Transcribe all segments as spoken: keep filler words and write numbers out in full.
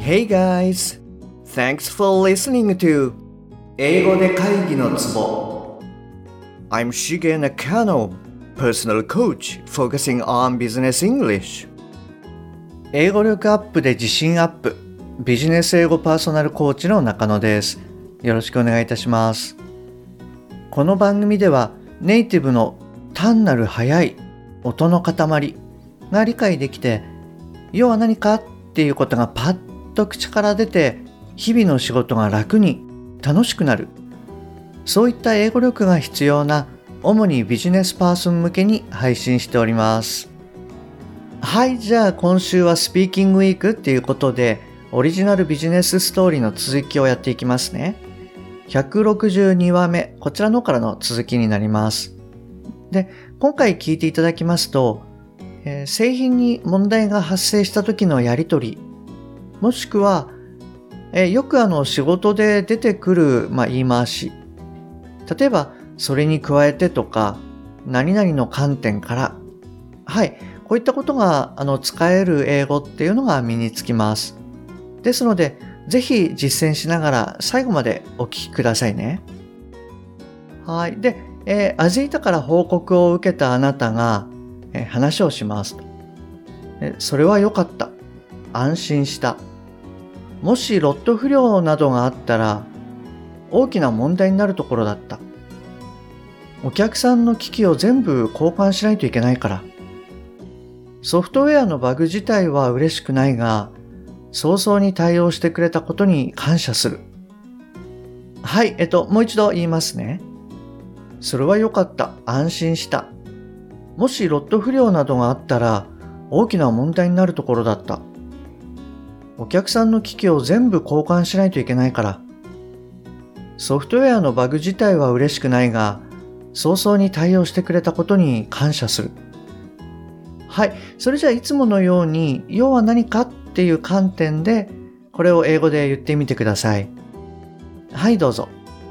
Hey guys! Thanks for listening to 英語で会議のツボ I'm Shige Nakano, personal coach focusing on business English 英語力アップで自信アップビジネス英語パーソナルコーチの中野です。よろしくお願いいたします。この番組ではネイティブの単なる速い音の塊が理解できて、要は何かっていうことがパッと口から出て、日々の仕事が楽に楽しくなる、そういった英語力が必要な主にビジネスパーソン向けに配信しております。はい、じゃあ今週はスピーキングウィークっていうことでオリジナルビジネスストーリーの続きをやっていきますね。ひゃくろくじゅうにわめ、こちらのからの続きになります。で、今回聞いていただきますと、えー、製品に問題が発生した時のやりとり、もしくは、えー、よくあの仕事で出てくる、まあ、言い回し、例えばそれに加えてとか何々の観点から、はい、こういったことがあの使える英語っていうのが身につきます。ですので、ぜひ実践しながら最後までお聞きくださいね。はい。で、えー、アジータから報告を受けたあなたが、えー、話をしますと。えー、それは良かった。安心した。もしロット不良などがあったら、大きな問題になるところだった。お客さんの機器を全部交換しないといけないから。ソフトウェアのバグ自体は嬉しくないが、早々に対応してくれたことに感謝する。はい、えっと、もう一度言いますね。それは良かった。安心した。もしロット不良などがあったら、大きな問題になるところだった。お客さんの機器を全部交換しないといけないから。ソフトウェアのバグ自体は嬉しくないが、早々に対応してくれたことに感謝する。はい、それじゃあいつものように、要は何かっていう観点で、これを英語で言ってみてください。はい、どうぞ。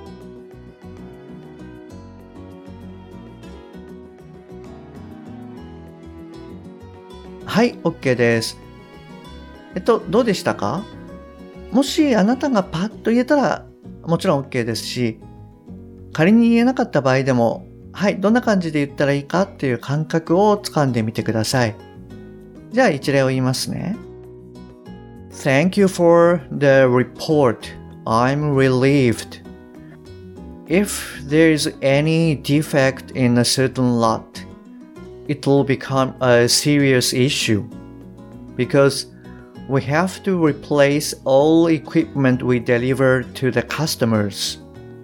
はい、OK です。えっと、どうでしたか？もしあなたがパッと言えたら、もちろん OK ですし、仮に言えなかった場合でも、はい、どんな感じで言ったらいいかっていう感覚をつかんでみてください。じゃあ一例を言いますね。Thank you for the report. I'm relieved. If there's any defect in a certain lot, it will become a serious issue because we have to replace all equipment we deliver to the customers.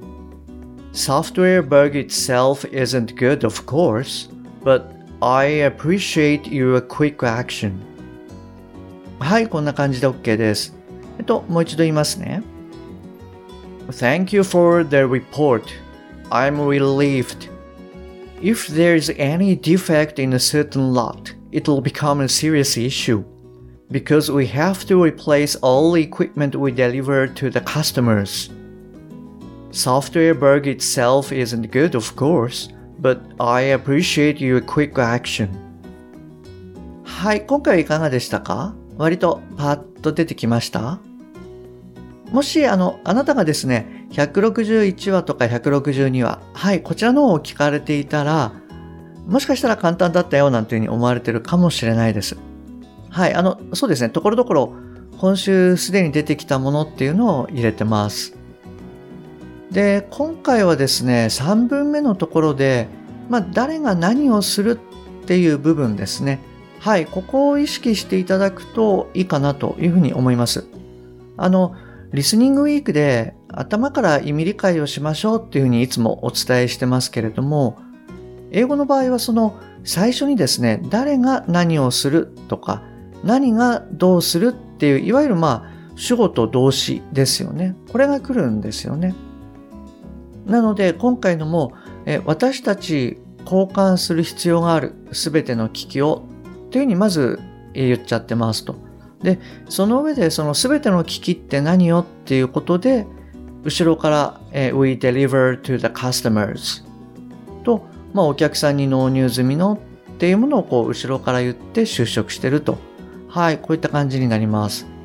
Software bug itself isn't good, of course, but I appreciate your quick action. はい、こんな感じで OK です。えっと、もう一度言いますね。Thank you for the report. I'm relieved. If there's any defect in a certain lot, it will become a serious issue because we have to replace all the equipment we deliver to the customers. Software bug itself isn't good, of course, but I appreciate your quick action. はい、今回はいかがでしたか？割とパッと出てきました？もしあの、あなたがですね、ひゃくろくじゅういちわとかひゃくろくじゅうにわ、はい、こちらの方を聞かれていたら、もしかしたら簡単だったよなんていうふうに思われているかもしれないです。はい、あの、そうですね、ところどころ、今週すでに出てきたものっていうのを入れてます。で、今回はですね、さんぶんめのところで、まあ、誰が何をするっていう部分ですね。はい、ここを意識していただくといいかなというふうに思います。あの、リスニングウィークで頭から意味理解をしましょうっていうふうにいつもお伝えしてますけれども、英語の場合はその最初にですね、誰が何をするとか、何がどうするっていう、いわゆるまあ、主語と動詞ですよね。これが来るんですよね。なので、今回のも、え私たち交換する必要があるすべての機器をというふうにまず言っちゃってますと。で、その上でそのすべての機器って何よっていうことで、後ろから、え We deliver to the customers と、まあ、お客さんに納入済みのっていうものをこう後ろから言って就職してると。はい、こういった感じになります。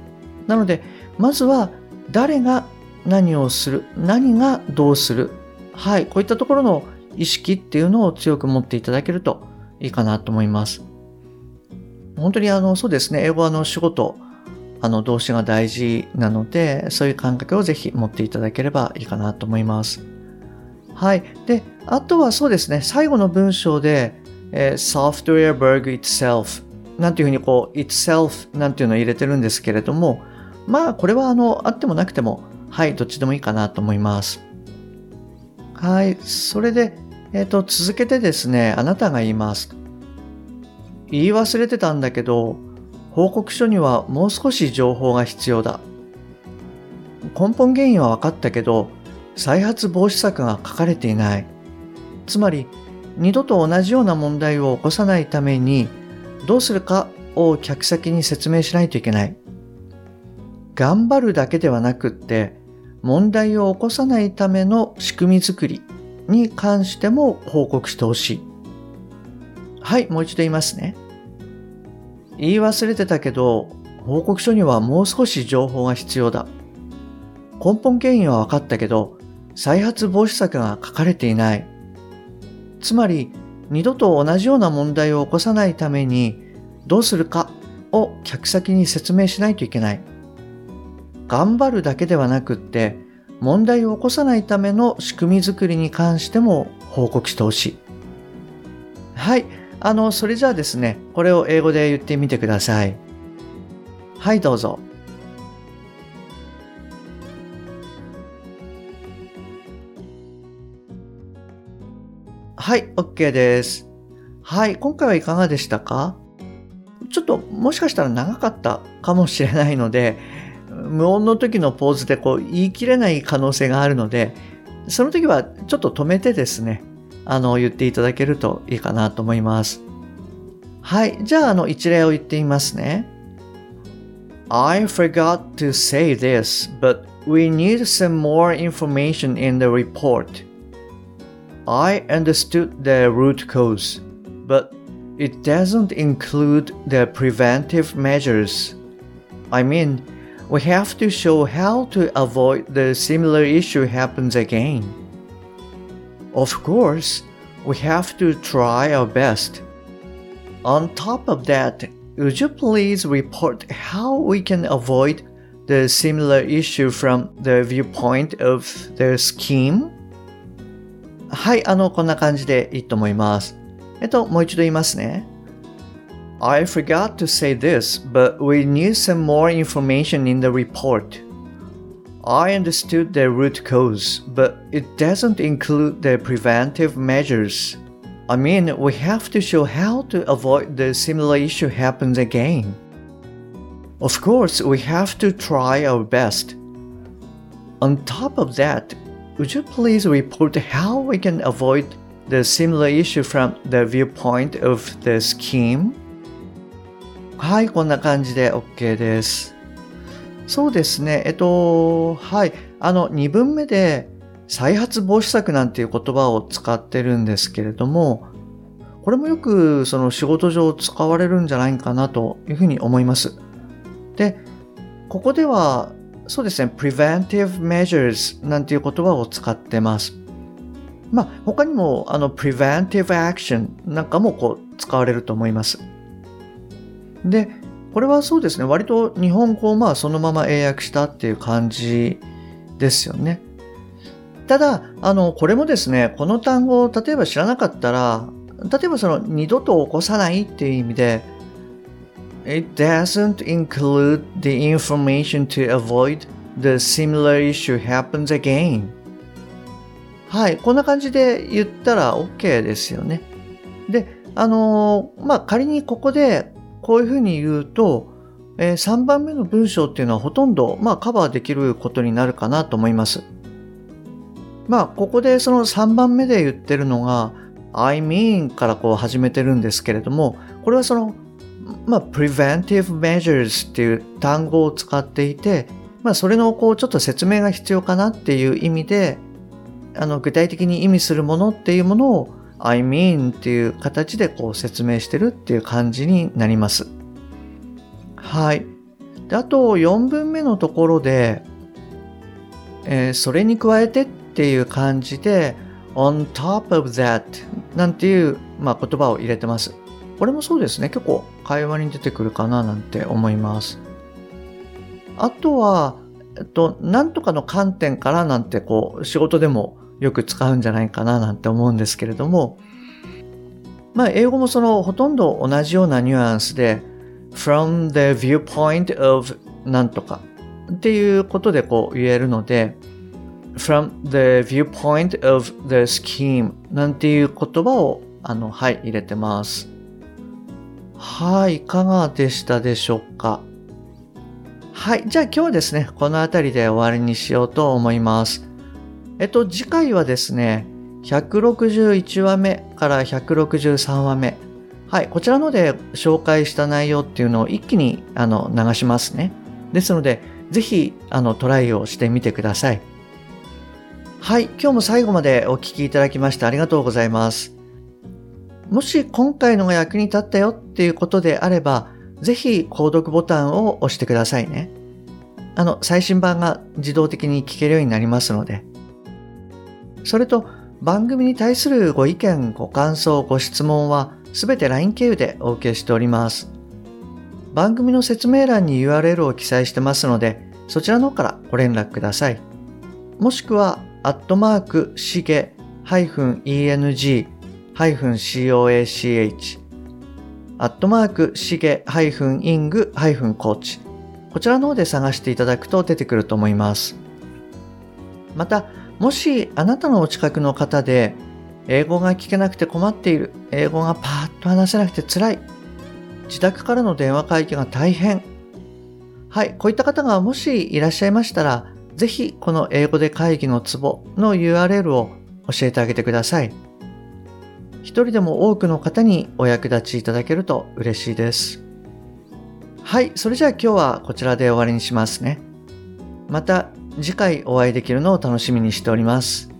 なので、まずは誰が何をする、何がどうする。はい、こういったところの意識っていうのを強く持っていただけるといいかなと思います。本当にあの、そうですね、英語はあの仕事、あの動詞が大事なので、そういう感覚をぜひ持っていただければいいかなと思います。はい。で、あとはそうですね、最後の文章で、えー、software bug itself なんていうふうにこう itself なんていうのを入れてるんですけれども、まあこれはあのあってもなくても、はい、どっちでもいいかなと思います。はい。それで、えっと、続けてですね、あなたが言います。言い忘れてたんだけど、報告書にはもう少し情報が必要だ。根本原因は分かったけど、再発防止策が書かれていない。つまり、二度と同じような問題を起こさないために、どうするかを客先に説明しないといけない。頑張るだけではなくって、問題を起こさないための仕組み作りに関しても報告してほしい。はい、もう一度言いますね。言い忘れてたけど、報告書にはもう少し情報が必要だ。根本原因は分かったけど、再発防止策が書かれていない。つまり、二度と同じような問題を起こさないために、どうするかを客先に説明しないといけない。頑張るだけではなくって、問題を起こさないための仕組み作りに関しても報告してほしい。はい。あの、それじゃあですね、これを英語で言ってみてください。はい、どうぞ。はい、OK です。はい、今回はいかがでしたか？ちょっともしかしたら長かったかもしれないので、無音の時のポーズでこう言い切れない可能性があるので、その時はちょっと止めてですね、あの、言っていただけるといいかなと思います。はい。じゃあ、あの、一例を言ってみますね。I forgot to say this, but we need some more information in the report. I understood the root cause, but it doesn't include the preventive measures. I mean, we have to show how to avoid the similar issue happens again. Of course, we have to try our best.On top of that, would you please report how we can avoid the similar issue from the viewpoint of the scheme? はい、あの、こんな感じでいいと思います。えっと、もう一度言いますね。I forgot to say this, but we need some more information in the report. I understood the root cause, but it doesn't include the preventive measures.I mean, we have to show how to avoid the similar issue happens again. Of course, we have to try our best. On top of that, would you please report how we can avoid the similar issue from the viewpoint of the scheme? はい、こんな感じで OK です。そうですね、えっと、はい、あの、にぶんめで、再発防止策なんていう言葉を使ってるんですけれども、これもよくその仕事上使われるんじゃないかなというふうに思います。で、ここではそうですね、preventive measures なんていう言葉を使ってます。まあ他にもあの preventive action なんかもこう使われると思います。で、これはそうですね、割と日本語をまあそのまま英訳したっていう感じですよね。ただ、あの、これもですね、この単語を例えば知らなかったら、例えばその二度と起こさないっていう意味で、It doesn't include the information to avoid the similar issue happens again. はい、こんな感じで言ったら OK ですよね。で、あの、まあ、仮にここでこういうふうに言うと、えー、さんばんめの文章っていうのはほとんど、まあ、カバーできることになるかなと思います。まあ、ここでそのさんばんめで言ってるのが、I mean からこう始めてるんですけれども、これはその、まあ、preventive measures っていう単語を使っていて、まあ、それのこうちょっと説明が必要かなっていう意味で、あの、具体的に意味するものっていうものを I mean っていう形でこう説明してるっていう感じになります。はい。 で、あとよんぶんめのところで、えー、それに加えてっていう感じで on top of that なんていう、まあ、言葉を入れてます。これもそうですね。結構会話に出てくるかななんて思います。あとは、えっと、なんとかの観点からなんてこう仕事でもよく使うんじゃないかななんて思うんですけれども、まあ英語もそのほとんど同じようなニュアンスで from the viewpoint of なんとかっていうことでこう言えるので from the viewpoint of the scheme なんていう言葉をあのはい入れてます。はい、いかがでしたでしょうか。はい、じゃあ今日はですね、このあたりで終わりにしようと思います。えっと、次回はですね、ひゃくろくじゅういちわめからひゃくろくじゅうさんわめ。はい、こちらので紹介した内容っていうのを一気にあの流しますね。ですので、ぜひあのトライをしてみてください。はい、今日も最後までお聞きいただきましてありがとうございます。もし今回のが役に立ったよっていうことであれば、ぜひ購読ボタンを押してくださいね。あの、最新版が自動的に聞けるようになりますので。それと、番組に対するご意見、ご感想、ご質問はすべて ライン 経由でお受けしております。番組の説明欄に ユーアールエル を記載してますので、そちらの方からご連絡ください。もしくは、アットマーク、しげ -eng-coach、アットマーク、しげ -ing-coach、こちらの方で探していただくと出てくると思います。また、もしあなたのお近くの方で英語が聞けなくて困っている、英語がパーッと話せなくて辛い、自宅からの電話会議が大変、はい、こういった方がもしいらっしゃいましたら、ぜひこの英語で会議のツボの ユーアールエル を教えてあげてください。一人でも多くの方にお役立ちいただけると嬉しいです。はい、それじゃあ今日はこちらで終わりにしますね。また次回お会いできるのを楽しみにしております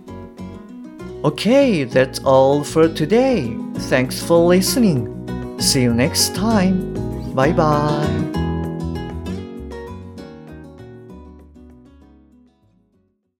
。Okay, that's all for today. Thanks for listening. See you next time. Bye bye.